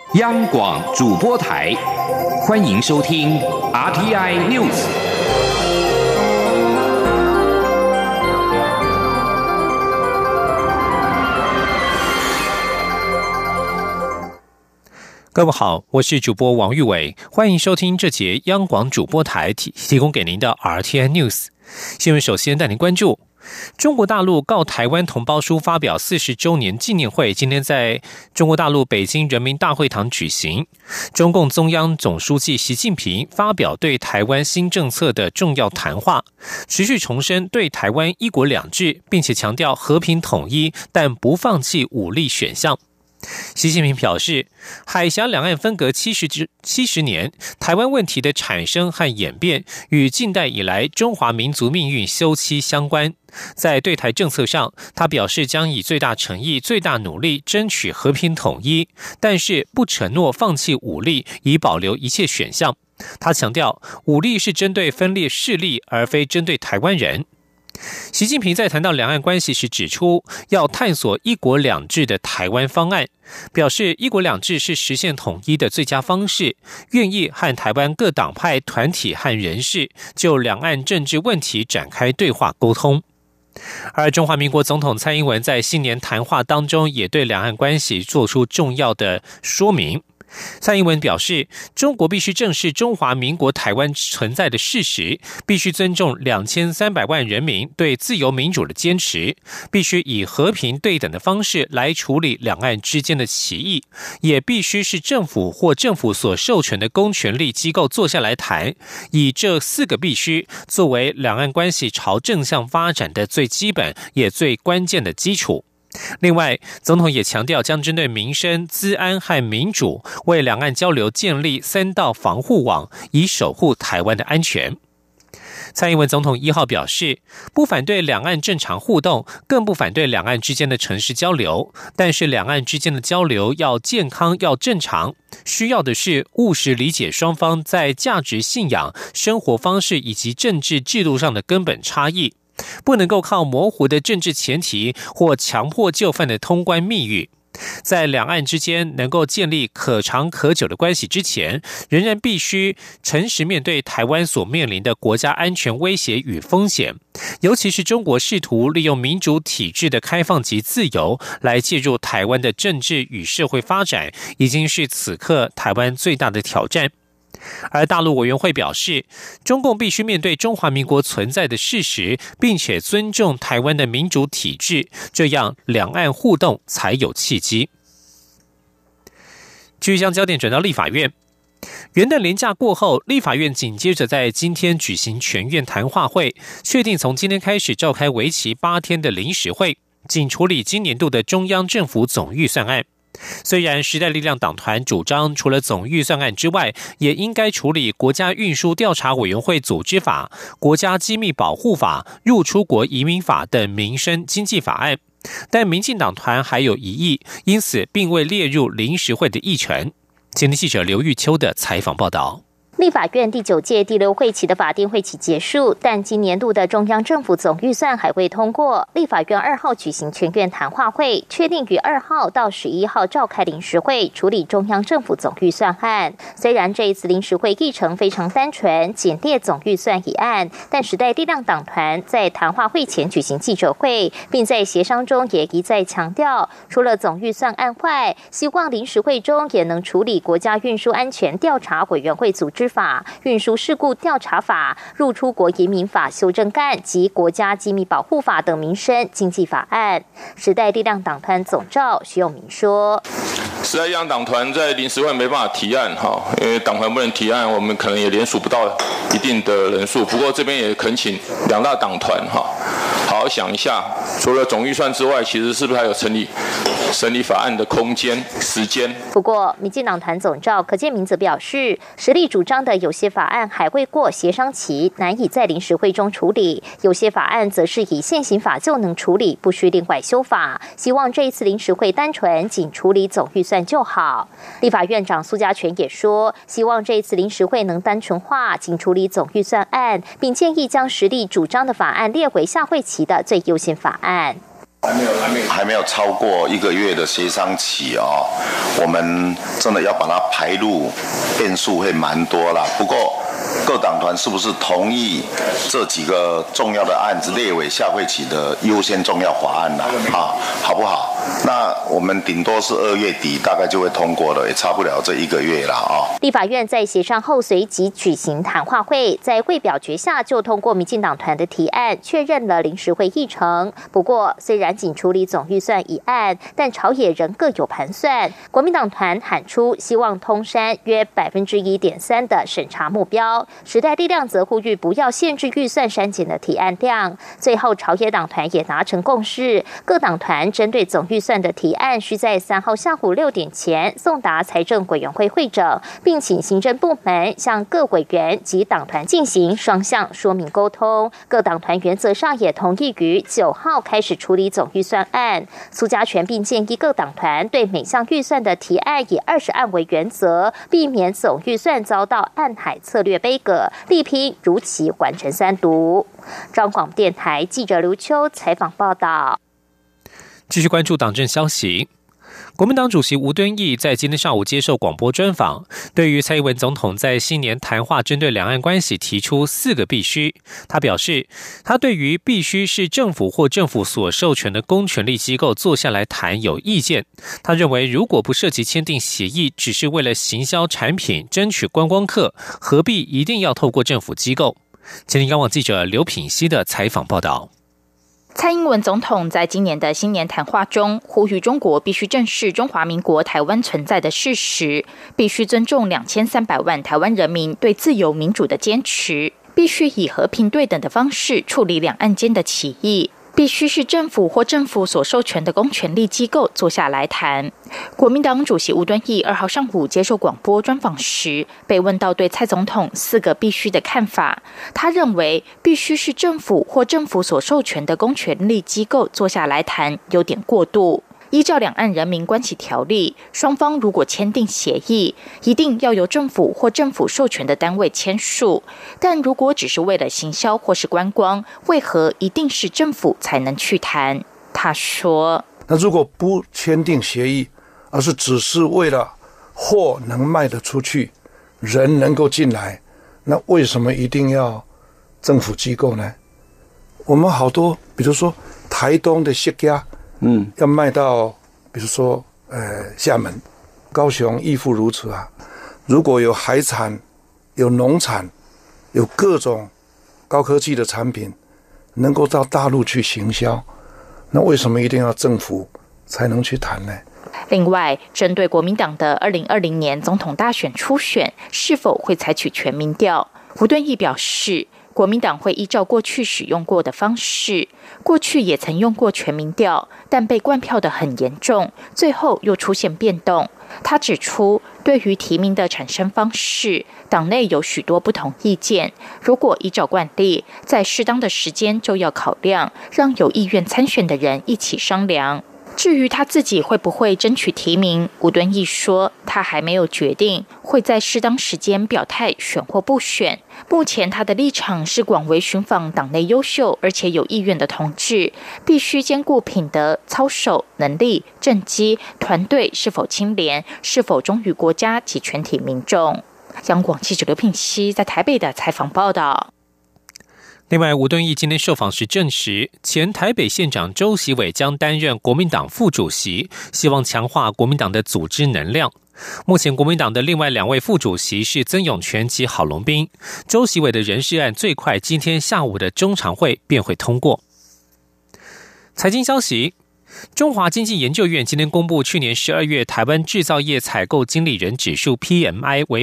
央广主播台，欢迎收听 RTI News。 各位好，我是主播王玉伟，欢迎收听这节央广主播台提供给您的 RTI News 新闻。首先带您关注中国大陆告台湾同胞书发表40周年纪念会，今天在中国大陆北京人民大会堂举行。中共中央总书记习近平发表对台湾新政策的重要谈话，持续重申对台湾一国两制，并且强调和平统一，但不放弃武力选项。习近平表示，海峡两岸分隔70年，台湾问题的产生和演变与近代以来中华民族命运休戚相关。在对台政策上，他表示将以最大诚意、最大努力争取和平统一，但是不承诺放弃武力，以保留一切选项。他强调，武力是针对分裂势力，而非针对台湾人。习近平在谈到两岸关系时指出，要探索一国两制的台湾方案，表示一国两制是实现统一的最佳方式，愿意和台湾各党派团体和人士就两岸政治问题展开对话沟通。而中华民国总统蔡英文在新年谈话当中也对两岸关系做出重要的说明。蔡英文表示，中国必须正视中华民国台湾存在的事实，必须尊重2300万人民对自由民主的坚持，必须以和平对等的方式来处理两岸之间的歧义，也必须是政府或政府所授权的公权力机构坐下来谈，以这4个必须作为两岸关系朝正向发展的最基本也最关键的基础。另外，总统也强调将针对民生、资安和民主，为两岸交流建立3道防护网，以守护台湾的安全。蔡英文总统1号表示，不反对两岸正常互动，更不反对两岸之间的诚实交流，但是两岸之间的交流要健康、要正常，需要的是务实理解双方在价值信仰、生活方式以及政治制度上的根本差异，不能够靠模糊的政治前提或强迫就范的通关密语。在两岸之间能够建立可长可久的关系之前，仍然必须诚实面对台湾所面临的国家安全威胁与风险，尤其是中国试图利用民主体制的开放及自由来介入台湾的政治与社会发展，已经是此刻台湾最大的挑战。而大陆委员会表示，中共必须面对中华民国存在的事实，并且尊重台湾的民主体制，这样两岸互动才有契机。继续将焦点转到立法院。元旦连假过后，立法院紧接着在今天举行全院谈话会，确定从今天开始召开为期8天的临时会，仅处理今年度的中央政府总预算案。虽然时代力量党团主张除了总预算案之外，也应该处理国家运输调查委员会组织法、国家机密保护法、入出国移民法等民生经济法案，但民进党团还有疑义，因此并未列入临时会的议程。前天记者刘玉秋的采访报道。 立法院第9届第6会期的法定会期结束，但今年度的中央政府总预算还未通过。立法院2号举行全院谈话会，确定于2号到11号召开临时会，处理中央政府总预算案。虽然这一次临时会议程非常单纯，仅列总预算一案，但时代力量党团在谈话会前举行记者会，并在协商中也一再强调，除了总预算案外，希望临时会中也能处理国家运输安全调查委员会组织法、运输事故调查法、入出国移民法修正案及国家机密保护法等民生经济法案。时代力量党团总召徐永明说， 时代力量党团在临时会没办法提案，因为党团不能提案，我们可能也联署不到一定的人数。不过这边也恳请2大党团好好想一下，除了总预算之外，其实是不是还有审理法案的空间、时间？ 不过，民进党团总召柯建铭则表示，实力主张的有些法案还未过协商期，难以在临时会中处理；有些法案则是以现行法就能处理，不需另外修法。希望这一次临时会单纯仅处理总预算就好。立法院长苏家全也说，希望这一次临时会能单纯化，仅处理总预算案，并建议将实力主张的法案列为下会期的最优先法案。 还没有超过1个月的协商期哦，我们真的要把它排入，变数会蛮多啦。不过各党团是不是同意这几个重要的案子列为下会期的优先重要法案啦？好不好？那我们顶多是2月底大概就会通过了，也差不了这1个月啦啊。 立法院在协商后随即举行谈话会，在会表决下就通过民进党团的提案，确认了临时会议程。不过，虽然仅处理总预算一案，但朝野仍各有盘算。国民党团喊出希望通删约1.3%的审查目标，时代力量则呼吁不要限制预算删减的提案量。最后，朝野党团也达成共识，各党团针对总预算的提案，需在3号下午6点前送达财政委员会会诊，并请行政部门向各委员及党团进行双向说明沟通。各党团原则上也同意于9号开始处理总预算案。苏嘉全并建议各党团对每项预算的提案以20案为原则，避免总预算遭到暗海策略杯葛，力拼如期完成3读。中广电台记者刘秋采访报道。 继续关注党政消息。国民党主席吴敦义在今天上午接受广播专访，对于蔡英文总统在新年谈话针对两岸关系提出4个必须，他表示，他对于必须是政府或政府所授权的公权力机构坐下来谈有意见。他认为，如果不涉及签订协议，只是为了行销产品、争取观光客，何必一定要透过政府机构？前天央网记者刘品熙的采访报道。 蔡英文总统在今年的新年谈话中，呼吁中国必须正视中华民国台湾存在的事实，必须尊重2300万台湾人民对自由民主的坚持，必须以和平对等的方式处理两岸间的歧义，必须是政府或政府所授权的公权力机构坐下来谈。国民党主席吴敦义2号上午接受广播专访时，被问到对蔡总统4个必须的看法，他认为必须是政府或政府所授权的公权力机构坐下来谈有点过度。依照两岸人民关系条例，双方如果签订协议，一定要由政府或政府授权的单位签署。但如果只是为了行销或是观光，为何一定是政府才能去谈？他说： 那如果不签订协议，而是只是为了货能卖得出去，人能够进来，那为什么一定要政府机构呢？我们好多，比如说台东的释迦，要卖到比如说厦门、高雄亦复如此啊。如果有海产、有农产、有各种高科技的产品能够到大陆去行销，那为什么一定要政府才能去谈呢？ 另外，针对国民党的2020年总统大选初选是否会采取全民调，吴敦义表示，国民党会依照过去使用过的方式，过去也曾用过全民调，但被灌票得很严重，最后又出现变动。他指出，对于提名的产生方式，党内有许多不同意见，如果依照惯例，在适当的时间就要考量，让有意愿参选的人一起商量。至于他自己会不会争取提名，吴敦义说他还没有决定，会在适当时间表态选或不选。目前他的立场是广为寻访党内优秀而且有意愿的同志，必须兼顾品德、操守、能力、政绩、团队是否清廉，是否忠于国家及全体民众。央广记者刘品熙在台北的采访报道。 另外，吴敦义今天受访时证实，前台北县长周习伟将担任国民党副主席，希望强化国民党的组织能量。目前国民党的另外2位副主席是曾永权及郝龙斌，周习伟的人事案最快今天下午的中常会便会通过。财经消息，中华经济研究院今天公布，去年12月台湾制造业采购经理人指数 PMI 为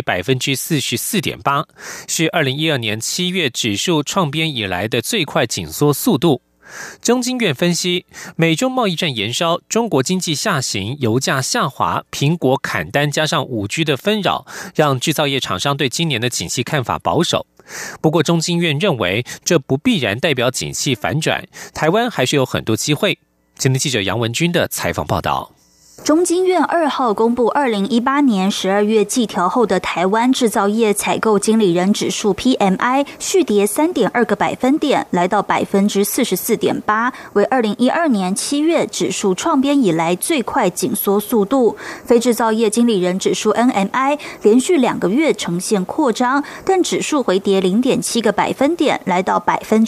44.8%， 是2012年7月指数创编以来的最快紧缩速度。中经院分析，美中贸易战延烧，中国经济下行，油价下滑，苹果砍单加上 5G 的纷扰，让制造业厂商对今年的景气看法保守。不过中经院认为，这不必然代表景气反转，台湾还是有很多机会。今天记者杨文君的采访报道。 中经院2号公布2018年12月季调后的台湾制造业采购经理人指数 PMI 续跌3.2个百分点，来到 44.8%， 为2012年7月指数创编以来最快紧缩速度。非制造业经理人指数 NMI 连续2个月呈现扩张，但指数回跌 0.7个百分点，来到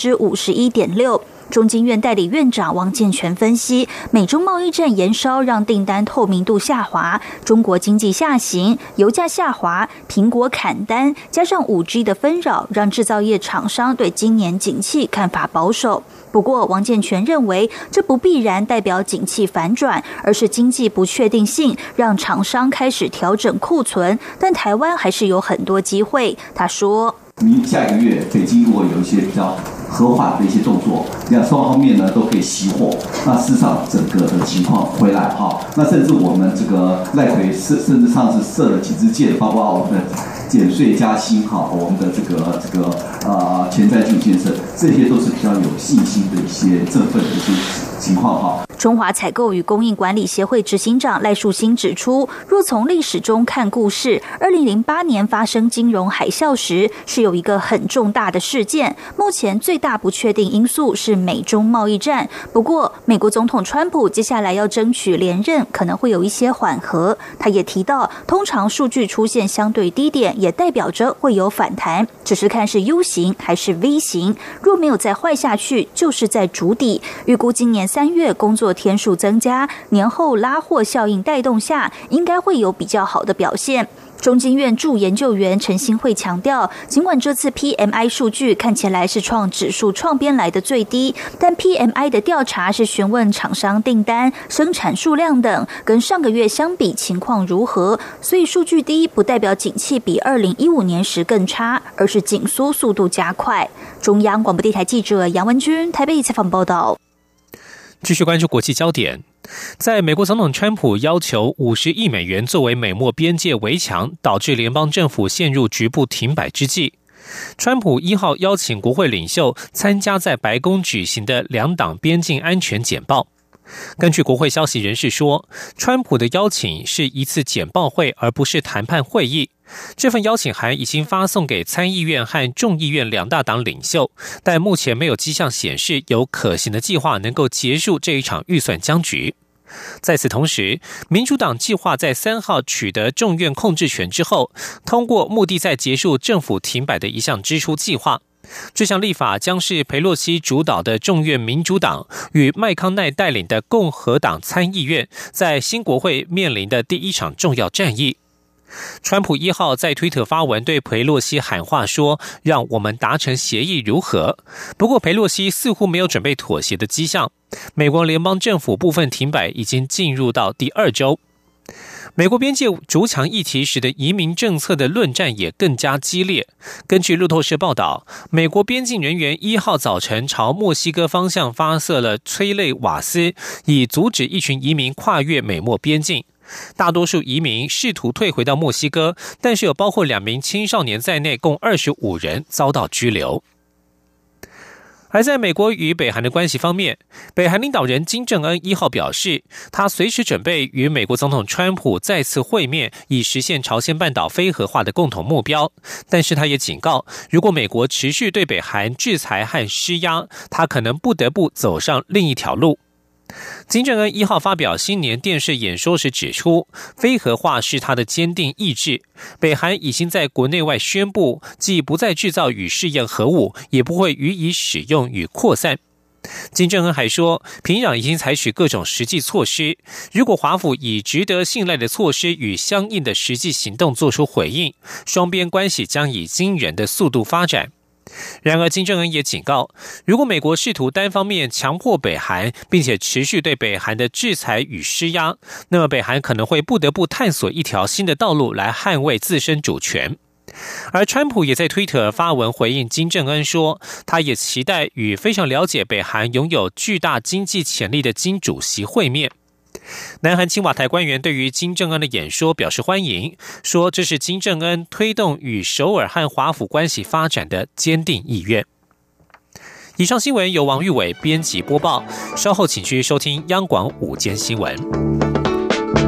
51.6%。中经院代理院长王健全分析，美中贸易战延烧让订单透明度下滑，中国经济下行，油价下滑，苹果砍单，加上 5G 的纷扰，让制造业厂商对今年景气看法保守。不过王健全认为，这不必然代表景气反转，而是经济不确定性让厂商开始调整库存，但台湾还是有很多机会。他说， 下一个月北京如果有一些比较和缓的一些动作，两双方面呢都可以熄火，那事实上整个的情况回来哈，那甚至我们这个赖奎甚至上次设了几支箭，包括我们的减税加薪哈，我们的这个前瞻基础建设，这些都是比较有信心的一些振奋的一些情况哈。 中华采购与供应管理协会执行长赖树兴指出，若从历史中看故事，2008年发生金融海啸时是有一个很重大的事件，目前最大不确定因素是美中贸易战。不过美国总统川普接下来要争取连任，可能会有一些缓和。他也提到，通常数据出现相对低点也代表着会有反弹，只是看是 U 型还是 V 型，若没有再坏下去就是在筑底。预估今年3月工作天数增加，年后拉货效应带动下，应该会有比较好的表现。中经院驻研究员陈新慧强调，尽管这次 PMI 数据看起来是创指数创编来的最低，但 PMI 的调查是询问厂商订单、生产数量等，跟上个月相比情况如何，所以数据低不代表景气比2015年时更差，而是紧缩速度加快。中央广播电台记者杨文君台北采访报道。 继续关注国际焦点，在美国总统川普要求50亿美元作为美墨边界围墙，导致联邦政府陷入局部停摆之际，川普1号邀请国会领袖参加在白宫举行的两党边境安全简报。根据国会消息人士说，川普的邀请是一次简报会，而不是谈判会议。这份邀请函已经发送给参议院和众议院两大党领袖，但目前没有迹象显示有可行的计划能够结束这一场预算僵局。在此同时，民主党计划在3号取得众院控制权之后，通过目的在结束政府停摆的一项支出计划。这项立法将是裴洛西主导的众院民主党与麦康奈带领的共和党参议院在新国会面临的第一场重要战役。川普1号在推特发文对裴洛西喊话说，让我们达成协议如何？不过裴洛西似乎没有准备妥协的迹象。美国联邦政府部分停摆已经进入到第2周。美国边界筑墙议题使得移民政策的论战也更加激烈。根据路透社报道，美国边境人员1号早晨朝墨西哥方向发射了催泪瓦斯，以阻止一群移民跨越美墨边境。大多数移民试图退回到墨西哥，但是有包括2名青少年在内，共25人遭到拘留。而在美国与北韩的关系方面，北韩领导人金正恩1号表示，他随时准备与美国总统川普再次会面，以实现朝鲜半岛非核化的共同目标。但是他也警告，如果美国持续对北韩制裁和施压，他可能不得不走上另一条路。金正恩1号发表新年电视演说时指出，非核化是他的坚定意志。北韩已经在国内外宣布，既不再制造与试验核武，也不会予以使用与扩散。金正恩还说，平壤已经采取各种实际措施，如果华府以值得信赖的措施与相应的实际行动做出回应，双边关系将以惊人的速度发展。然而金正恩也警告，如果美国试图单方面强迫北韩，并且持续对北韩的制裁与施压，那么北韩可能会不得不探索一条新的道路来捍卫自身主权。而川普也在推特发文回应金正恩说，他也期待与非常了解北韩拥有巨大经济潜力的金主席会面。南韩青瓦台官员对于金正恩的演说表示欢迎，说这是金正恩推动与首尔和华府关系发展的坚定意愿。以上新闻由王玉伟编辑播报，稍后请去收听央广午间新闻。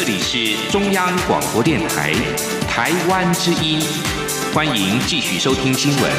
里是中央广播电台台湾之音，欢迎继续收听新闻。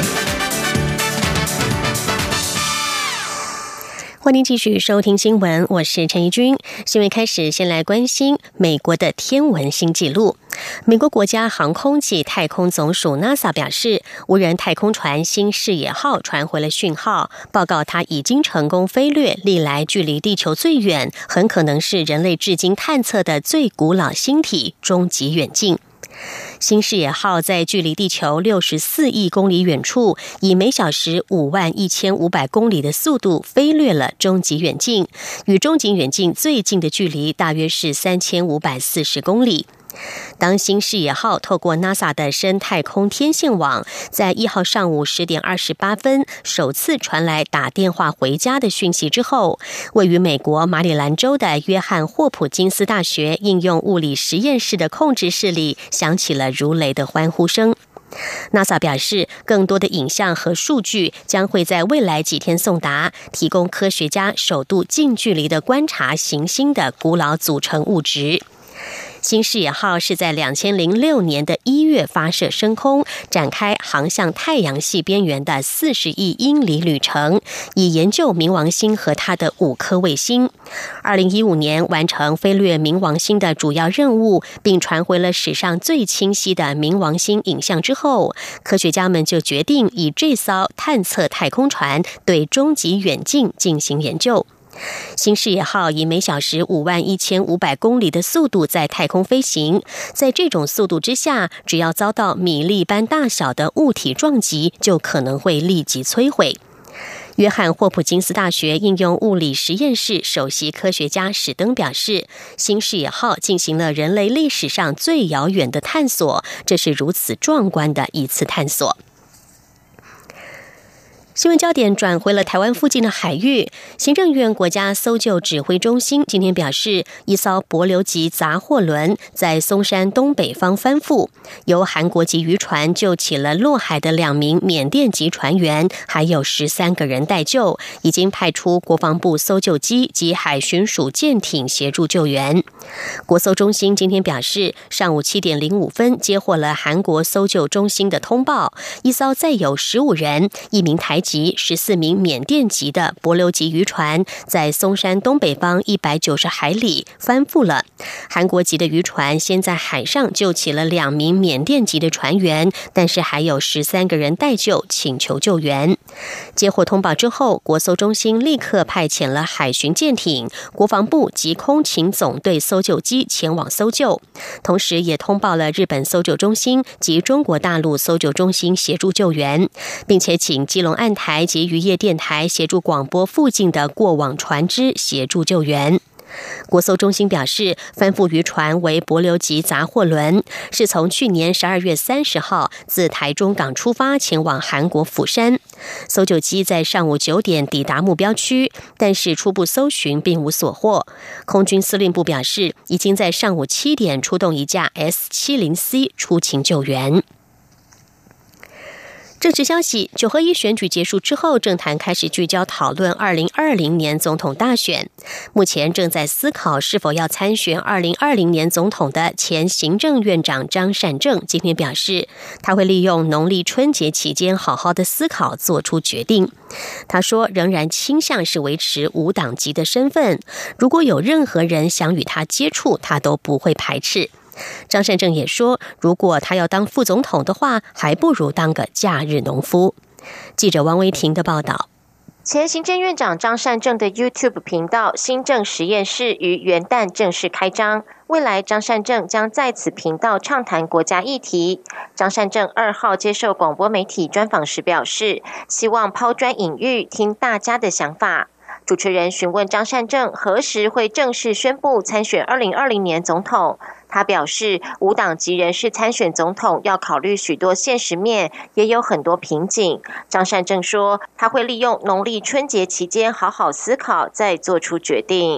欢迎继续收听新闻，我是陈怡君。新闻开始，先来关心美国的天文新纪录。美国国家航空及太空总署 NASA 表示，无人太空船新视野号传回了讯号，报告它已经成功飞掠历来距离地球最远，很可能是人类至今探测的最古老星体终极远近。新视野号在距离地球64亿公里远处，以每小时51500公里的速度飞掠了终极远近，与终极远近最近的距离大约是3540公里。当新视野号透过 NASA 的深太空天线网，在1号上午10点28分首次传来打电话回家的讯息之后，位于美国马里兰州的约翰霍普金斯大学应用物理实验室的控制室里响起了如雷的欢呼声。NASA 表示，更多的影像和数据将会在未来几天送达，提供科学家首度近距离的观察行星的古老组成物质。新视野号是在2006年的1月发射升空，展开航向太阳系边缘的40亿英里旅程，以研究冥王星和它的5颗卫星。2015年完成飞掠冥王星的主要任务，并传回了史上最清晰的冥王星影像之后，科学家们就决定以这艘探测太空船对终极远近进行研究。新视野号以每小时51500公里的速度在太空飞行，在这种速度之下，只要遭到米粒般大小的物体撞击，就可能会立即摧毁。约翰霍普金斯大学应用物理实验室首席科学家史登表示，新视野号进行了人类历史上最遥远的探索，这是如此壮观的一次探索。新闻焦点转回了台湾附近的海域。行政院国家搜救指挥中心今天表示，一艘帛琉级杂货轮在松山东北方翻覆，由韩国籍渔船救起了落海的2名缅甸籍船员，还有13个人待救，已经派出国防部搜救机及海巡署舰艇协助救援。国搜中心今天表示，上午7点05分接获了韩国搜救中心的通报，一艘载有15人、1名台籍、14名缅甸籍的帛琉级渔船在松山东北方190海里翻覆了。韩国籍的渔船先在海上救起了2名缅甸籍的船员，但是还有13个人待救，请求救援。接获通报之后，国搜中心立刻派遣了海巡舰艇、国防部及空勤总队搜救机前往搜救，同时也通报了日本搜救中心及中国大陆搜救中心协助救援，并且请基隆岸台及渔业电台协助广播附近的过往船只协助救援。国搜中心表示，翻覆渔船为帛琉级杂货轮，是从去年12月30号自台中港出发前往韩国釜山。搜救机在上午9点抵达目标区，但是初步搜寻并无所获。空军司令部表示，已经在上午7点出动一架 S-70C 出勤救援。政治消息，9合1选举结束之后，政坛开始聚焦讨论2020年总统大选。目前正在思考是否要参选2020年总统的前行政院长张善政今天表示，他会利用农历春节期间好好的思考，做出决定。他说，仍然倾向是维持无党籍的身份，如果有任何人想与他接触，他都不会排斥。张善政也说，如果他要当副总统的话，还不如当个假日农夫。记者王维婷的报道。 前行政院长张善政的 YouTube 频道新政实验室于元旦正式开张，未来张善政将在此频道畅谈国家议题。张善政2号接受广播媒体专访时表示，希望抛砖引玉，听大家的想法。主持人询问张善政何时会正式宣布参选2020年总统，他表示，无党籍人士参选总统要考虑许多现实面，也有很多瓶颈。张善政说，他会利用农历春节期间好好思考，再做出决定。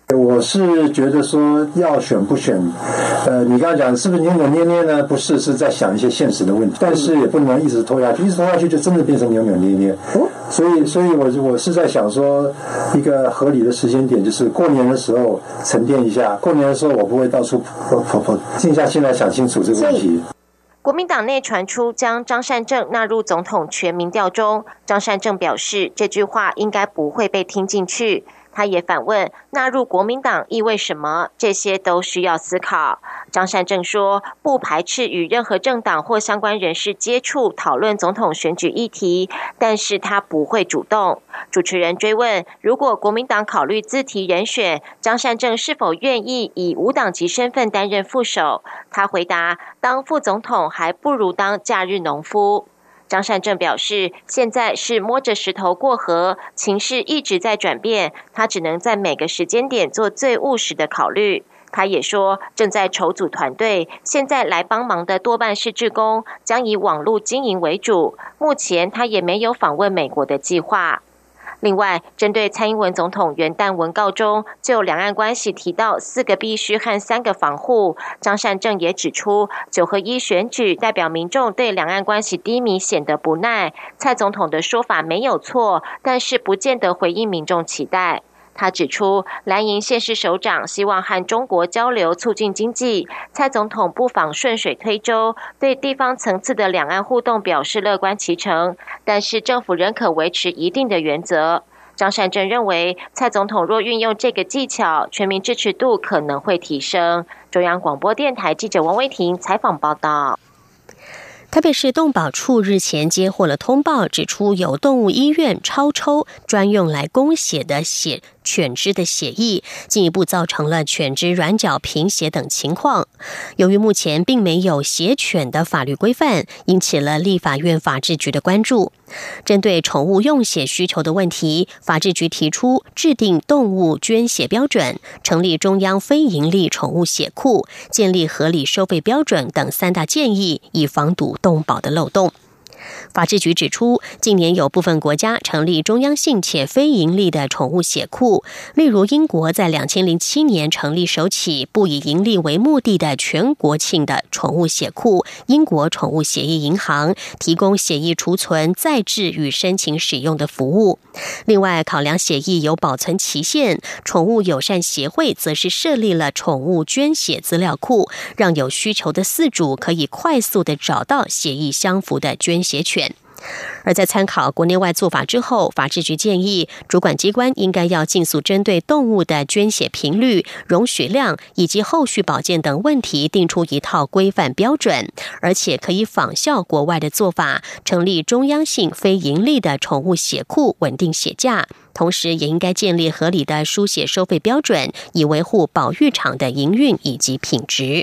我是觉得说要选不选，你刚才讲是不是扭扭捏捏呢？不是，是在想一些现实的问题，但是也不能一直拖下去，一直拖下去就真的变成扭扭捏捏。所以我是在想说，一个合理的时间点就是过年的时候沉淀一下，过年的时候我不会到处跑，静下心来想清楚这个问题。 国民党内传出将张善政纳入总统全民调中，张善政表示这句话应该不会被听进去。他也反问纳入国民党意味什么，这些都需要思考。张善政说不排斥与任何政党或相关人士接触讨论总统选举议题，但是他不会主动。主持人追问如果国民党考虑自提人选，张善政是否愿意以无党籍身份担任副手，他回答当副总统还不如当假日农夫。张善政表示现在是摸着石头过河，情势一直在转变，他只能在每个时间点做最务实的考虑。他也说正在筹组团队，现在来帮忙的多半是志工，将以网络经营为主，目前他也没有访问美国的计划。另外，针对蔡英文总统元旦文告中就两岸关系提到4个必须和3个防护，张善政也指出9合1选举代表民众对两岸关系低迷显得不耐，蔡总统的说法没有错，但是不见得回应民众期待。他指出蓝营县市首长希望和中国交流促进经济，蔡总统不妨顺水推舟，对地方层次的两岸互动表示乐观其成，但是政府仍可维持一定的原则。张善政认为蔡总统若运用这个技巧，全民支持度可能会提升。中央广播电台记者王威婷采访报道。 台北市动保处日前接获了通报，指出有动物医院超抽专用来供血的犬只的血液，进一步造成了犬只软脚贫血等情况。由于目前并没有血犬的法律规范，引起了立法院法制局的关注。针对宠物用血需求的问题，法制局提出制定动物捐血标准，成立中央非营利宠物血库，建立合理收费标准等3大建议，以防堵动保的漏洞。法制局指出，近年有部分国家成立中央性且非营利的宠物血库，例如英国在2007年成立首起不以营利为目的的全国性的宠物血库——英国宠物血液银行，提供血液储存、再制与申请使用的服务。另外，考量血液有保存期限，宠物友善协会则是设立了宠物捐血资料库，让有需求的饲主可以快速地找到血液相符的捐血犬。而在参考国内外做法之后，法制局建议主管机关应该要尽速针对动物的捐血频率、容许量以及后续保健等问题定出一套规范标准，而且可以仿效国外的做法，成立中央性非营利的宠物血库，稳定血价。同时也应该建立合理的输血收费标准，以维护保育场的营运以及品质。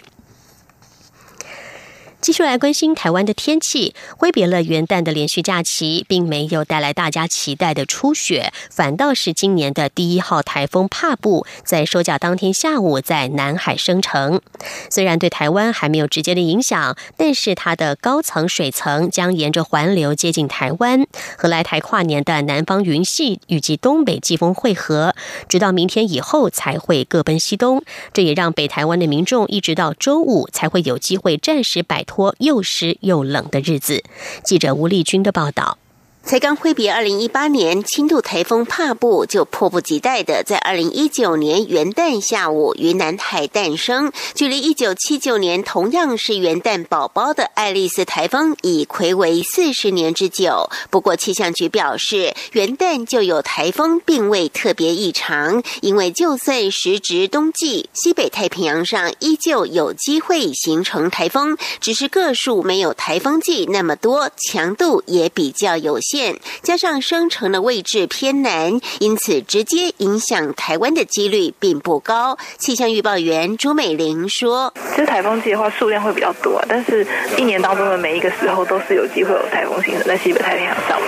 继续来关心台湾的天气，挥别了元旦的连续假期，并没有带来大家期待的初雪，反倒是今年的第1号台风帕布在收假当天下午在南海生成。虽然对台湾还没有直接的影响，但是它的高层水层将沿着环流接近台湾，和来台跨年的南方云系以及东北季风汇合，直到明天以后才会各奔西东。这也让北台湾的民众一直到周五才会有机会暂时摆脱又湿又冷的日子。记者吴丽君的报道。 才刚挥别2018年轻度台风帕布，就迫不及待的在2019年元旦下午于南海诞生。距离1979年同样是元旦宝宝的爱丽丝台风已睽违40年之久。不过气象局表示，元旦就有台风并未特别异常，因为就算时值冬季，西北太平洋上依旧有机会形成台风，只是个数没有台风季那么多，强度也比较有限。加上生成的位置偏南，因此直接影响台湾的几率并不高。气象预报员朱美玲说， 其实台风季的话数量会比较多，但是一年当中的每一个时候都是有机会有台风形成在西北太平洋上面。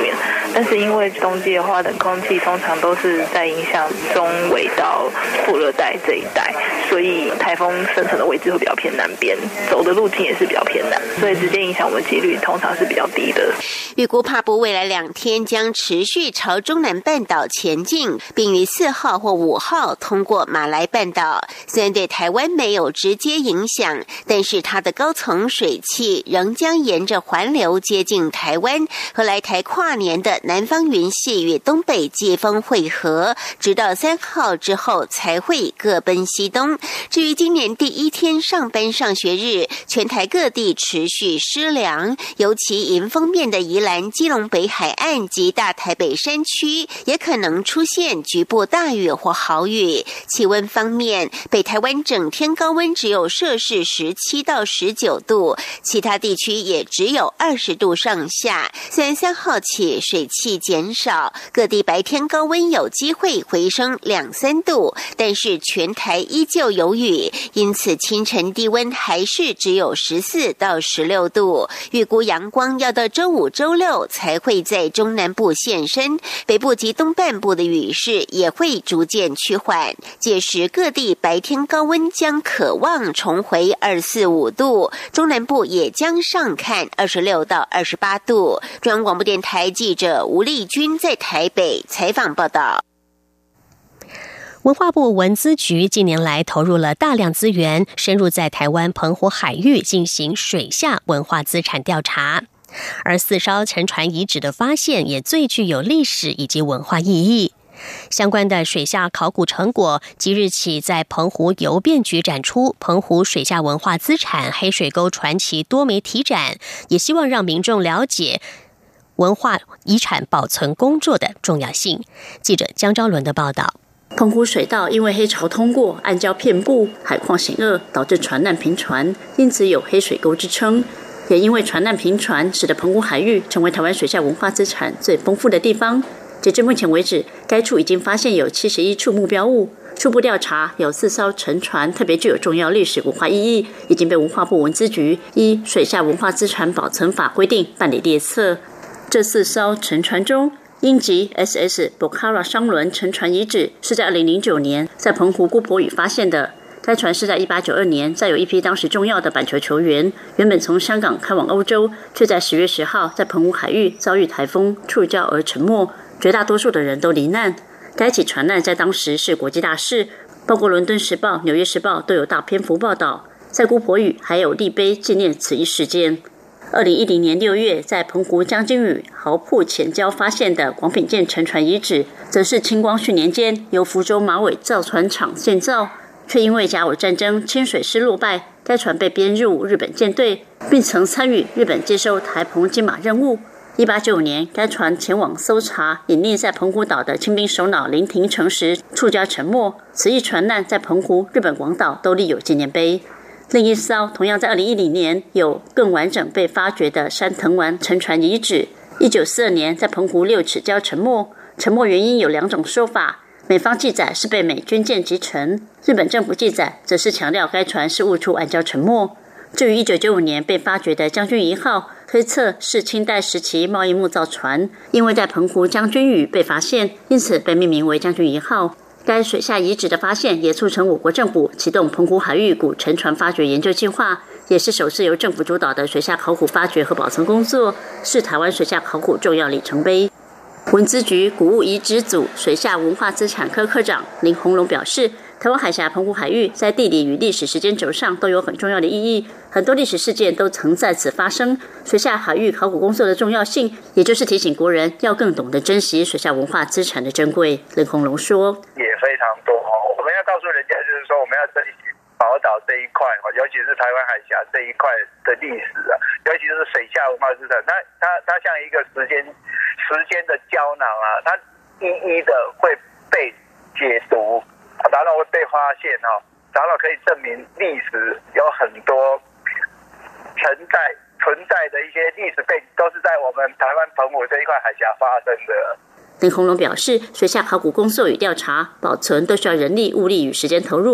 但是因为冬季的话，冷空气通常都是在影响中纬到副热带这一带，所以台风生成的位置会比较偏南边，走的路径也是比较偏南，所以直接影响我们几率通常是比较低的。 预估帕布未来2天将持续朝中南半岛前进，并于4号或5号通过马来半岛。虽然对台湾没有直接影响，但是它的高层水汽仍将沿着环流接近台湾，和来台跨年的南方云系与东北季风汇合，直到3号之后才会各奔西东。至于今年第1天上班上学日，全台各地持续湿凉，尤其迎风面的宜兰、基隆北海岸及大台北山区也可能出现局部大雨或豪雨。气温方面，北台湾整天高温只有摄氏17到19度，其他地区也只有20度上下。虽然3号起水汽减少，各地白天高温有机会回升2-3度，但是全台依旧有雨，因此清晨低温还是只有14到16度。预估阳光要到周5、周6才会在中南部现身，北部及东半部的雨势也会逐渐趋缓，届时各地白天高温将可望重回24-25度，中南部也将上看26到28度。中央广播电台记者吴丽君在台北采访报道。 文化部文资局近年来投入了大量资源，深入在台湾澎湖海域进行水下文化资产调查，而4艘沉船遗址的发现也最具有历史以及文化意义。相关的水下考古成果即日起在澎湖邮便局展出，澎湖水下文化资产黑水沟传奇多媒体展，也希望让民众了解文化遗产保存工作的重要性。记者江昭伦的报道。 澎湖水道因为黑潮通过，暗礁遍布，海况险恶，导致船难频传，因此有黑水沟之称。也因为船难频传，使得澎湖海域成为台湾水下文化资产最丰富的地方。截至目前为止，该处已经发现有71处目标物，初步调查有4艘沉船特别具有重要历史文化意义，已经被文化部文资局依水下文化资产保存法规定办理列册。这4艘沉船中，英籍 SS Bokara 商轮沉船遗址是在2009年在澎湖姑婆屿发现的。该船是在1892年载有一批当时重要的板球球员，原本从香港开往欧洲，却在10月10号在澎湖海域遭遇台风触礁而沉没，绝大多数的人都罹难。该起船难在当时是国际大事，包括《伦敦时报》、《纽约时报》都有大篇幅报道。在姑婆屿还有立碑纪念此一事件。2010年6月，在澎湖将军屿豪瀑前礁发现的广品舰沉船遗址，则是清光绪年间由福州马尾造船厂建造，却因为甲午战争清水师落败，该船被编入日本舰队，并曾参与日本接收台澎金马任务。1895年，该船前往搜查隐匿在澎湖岛的清兵首脑林廷诚时触礁沉没。此一船难在澎湖、日本广岛都立有纪念碑。另一艘同样在2010年有更完整被发掘的山藤丸沉船遗址，1942年在澎湖6尺礁沉没，沉没原因有2种说法，美方记载是被美军舰击沉，日本政府记载则是强调该船是误触暗礁沉没。至于1995年被发掘的将军1号，推测是清代时期贸易木造船，因为在澎湖将军屿被发现，因此被命名为将军1号。该水下遗址的发现也促成我国政府启动澎湖海域古沉船发掘研究计划，也是首次由政府主导的水下考古发掘和保存工作，是台湾水下考古重要里程碑。文资局古物遗址组水下文化资产科科长林鸿龙表示，台湾海峡澎湖海域在地理与历史时间轴上都有很重要的意义，很多历史事件都曾在此发生。水下海域考古工作的重要性，也就是提醒国人要更懂得珍惜水下文化资产的珍贵。林鸿龙说， 也非常多，我们要告诉人家，就是说我们要珍惜宝岛这一块，尤其是台湾海峡这一块的历史啊，尤其是水下文化资产，它像一个时间的胶囊啊，它一一的会被解读，然后会被发现然后可以证明历史有很多存在的一些历史背景，都是在我们台湾澎湖这一块海峡发生的。 林鸿龙表示，水下考古工作与调查、保存都需要人力、物力与时间投入，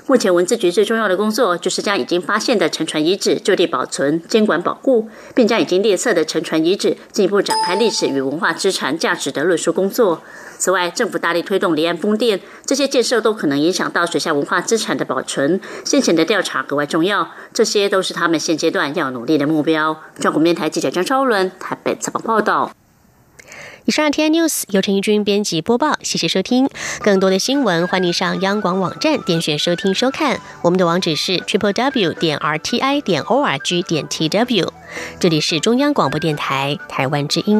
目前文字局最重要的工作就是将已经发现的沉船遗址就地保存、监管保护，并将已经列册的沉船遗址进一步展开历史与文化资产价值的论述工作。此外，政府大力推动离岸风电，这些建设都可能影响到水下文化资产的保存，先前的调查格外重要，这些都是他们现阶段要努力的目标。中国电台记者张昭伦台北采访报道。 以上 RTI News 由陈怡君编辑播报，谢谢收听。更多的新闻，欢迎上央广网站点选收听收看。我们的网址是 www.rti.org.tw。这里是中央广播电台台湾之音。